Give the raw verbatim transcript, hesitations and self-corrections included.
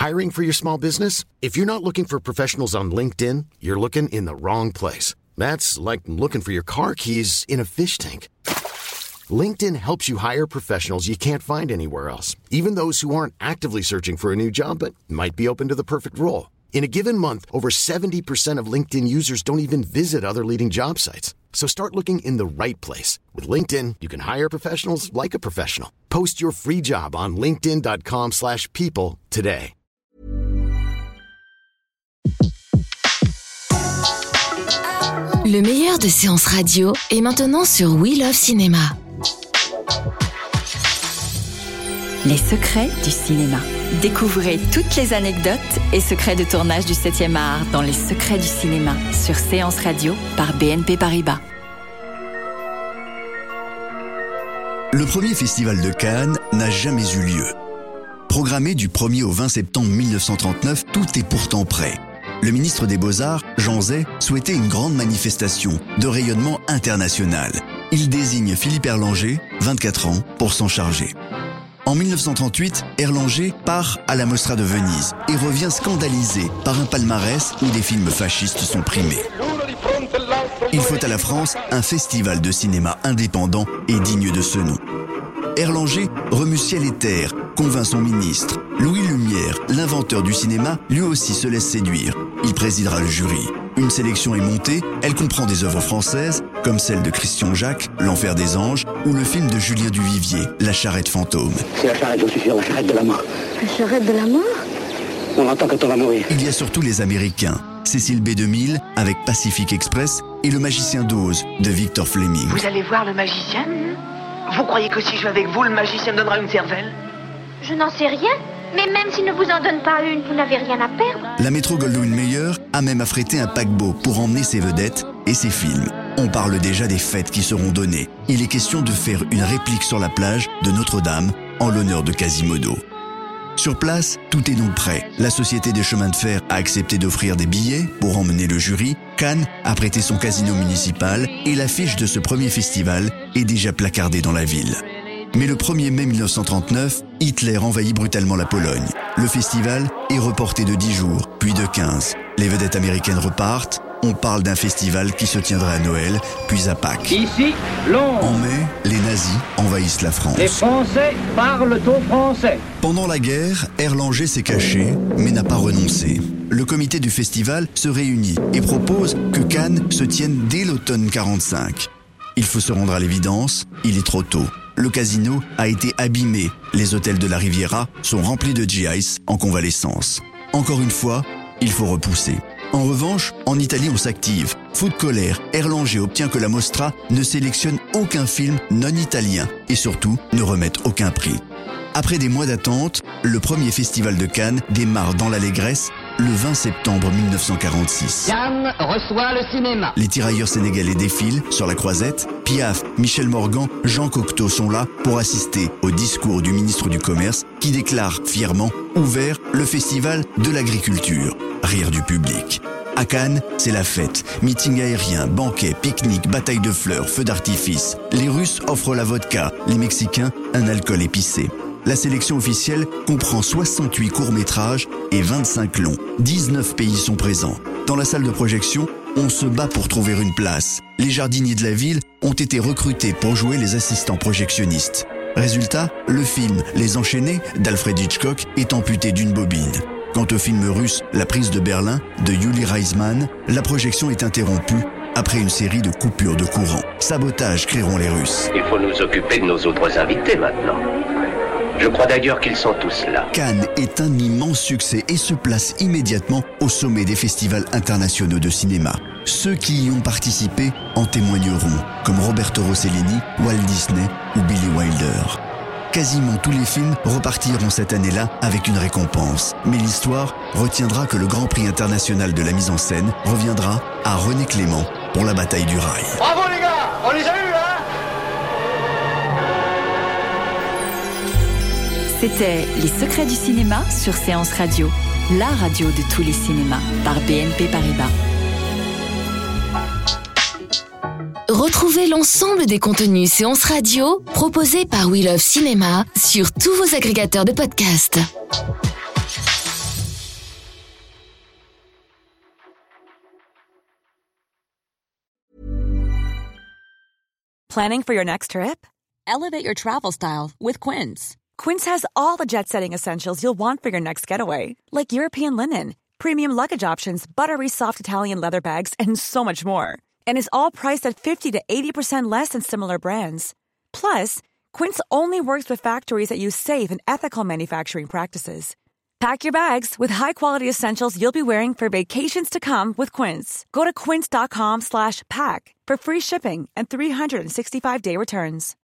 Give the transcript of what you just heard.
Hiring for your small business? If you're not looking for professionals on LinkedIn, you're looking in the wrong place. That's like looking for your car keys in a fish tank. LinkedIn helps you hire professionals you can't find anywhere else, even those who aren't actively searching for a new job but might be open to the perfect role. In a given month, over seventy percent of LinkedIn users don't even visit other leading job sites. So start looking in the right place. With LinkedIn, you can hire professionals like a professional. Post your free job on linkedin.com slash people today. Le meilleur de séances radio est maintenant sur We Love Cinéma. Les secrets du cinéma. Découvrez toutes les anecdotes et secrets de tournage du septième art dans Les secrets du cinéma sur Séance Radio par B N P Paribas. Le premier festival de Cannes n'a jamais eu lieu. Programmé du premier au vingt septembre mille neuf cent trente-neuf, tout est pourtant prêt. Le ministre des Beaux-Arts, Jean Zay, souhaitait une grande manifestation de rayonnement international. Il désigne Philippe Erlanger, vingt-quatre ans, pour s'en charger. En mille neuf cent trente-huit, Erlanger part à la Mostra de Venise et revient scandalisé par un palmarès où des films fascistes sont primés. Il faut à la France un festival de cinéma indépendant et digne de ce nom. Erlanger remue ciel et terre, convainc son ministre. Louis Lumière, l'inventeur du cinéma, lui aussi se laisse séduire. Il présidera le jury. Une sélection est montée, elle comprend des œuvres françaises, comme celle de Christian Jacques, L'Enfer des Anges, ou le film de Julien Duvivier, La Charrette fantôme. C'est la charrette, je suis sûr, la charrette de la mort. La charrette de la mort ? On entend quand on va mourir. Il y a surtout les Américains. Cécile B deux mille avec Pacific Express et Le Magicien d'Oz de Victor Fleming. Vous allez voir le magicien ? Vous croyez que si je vais avec vous, le magicien me donnera une cervelle ? Je n'en sais rien, mais même s'il ne vous en donne pas une, vous n'avez rien à perdre. La Metro-Goldwyn-Mayer a même affrété un paquebot pour emmener ses vedettes et ses films. On parle déjà des fêtes qui seront données. Il est question de faire une réplique sur la plage de Notre-Dame en l'honneur de Quasimodo. Sur place, tout est donc prêt. La Société des chemins de fer a accepté d'offrir des billets pour emmener le jury. Cannes a prêté son casino municipal et l'affiche de ce premier festival est déjà placardée dans la ville. Mais le premier mai mille neuf cent trente-neuf, Hitler envahit brutalement la Pologne. Le festival est reporté de dix jours, puis de quinze. Les vedettes américaines repartent. On parle d'un festival qui se tiendra à Noël, puis à Pâques. Ici, Londres. En mai, les nazis envahissent la France. Les Français parlent au français. Pendant la guerre, Erlanger s'est caché, mais n'a pas renoncé. Le comité du festival se réunit et propose que Cannes se tienne dès l'automne quarante-cinq. Il faut se rendre à l'évidence, il est trop tôt. Le casino a été abîmé. Les hôtels de la Riviera sont remplis de G I S en convalescence. Encore une fois, il faut repousser. En revanche, en Italie, on s'active. Fou de colère, Erlanger obtient que la Mostra ne sélectionne aucun film non italien et surtout ne remette aucun prix. Après des mois d'attente, le premier festival de Cannes démarre dans l'allégresse le vingt septembre mille neuf cent quarante-six. Cannes reçoit le cinéma. Les tirailleurs sénégalais défilent sur la Croisette. Piaf, Michel Morgan, Jean Cocteau sont là pour assister au discours du ministre du Commerce qui déclare fièrement ouvert le festival de l'agriculture. Rire du public. À Cannes, c'est la fête. Meeting aérien, banquet, pique-nique, bataille de fleurs, feux d'artifice. Les Russes offrent la vodka, les Mexicains un alcool épicé. La sélection officielle comprend soixante-huit courts-métrages et vingt-cinq longs. dix-neuf pays sont présents. Dans la salle de projection, on se bat pour trouver une place. Les jardiniers de la ville ont été recrutés pour jouer les assistants projectionnistes. Résultat, le film Les Enchaînés d'Alfred Hitchcock est amputé d'une bobine. Quant au film russe La prise de Berlin de Yuli Reisman, la projection est interrompue après une série de coupures de courant. Sabotage crieront les Russes. Il faut nous occuper de nos autres invités maintenant. Je crois d'ailleurs qu'ils sont tous là. Cannes est un immense succès et se place immédiatement au sommet des festivals internationaux de cinéma. Ceux qui y ont participé en témoigneront, comme Roberto Rossellini, Walt Disney ou Billy Wilder. Quasiment tous les films repartiront cette année-là avec une récompense. Mais l'histoire retiendra que le Grand Prix international de la mise en scène reviendra à René Clément pour La bataille du rail. Bravo les gars, on les a eus, hein? C'était Les secrets du cinéma sur Séance Radio, la radio de tous les cinémas, par B N P Paribas. Retrouvez l'ensemble des contenus Séance Radio proposés par We Love Cinéma sur tous vos agrégateurs de podcasts. Planning for your next trip? Elevate your travel style with Quince. Quince has all the jet-setting essentials you'll want for your next getaway, like European linen, premium luggage options, buttery soft Italian leather bags, and so much more. And is all priced at fifty to eighty percent less than similar brands. Plus, Quince only works with factories that use safe and ethical manufacturing practices. Pack your bags with high-quality essentials you'll be wearing for vacations to come with Quince. Go to quince.com slash pack for free shipping and three sixty-five day returns.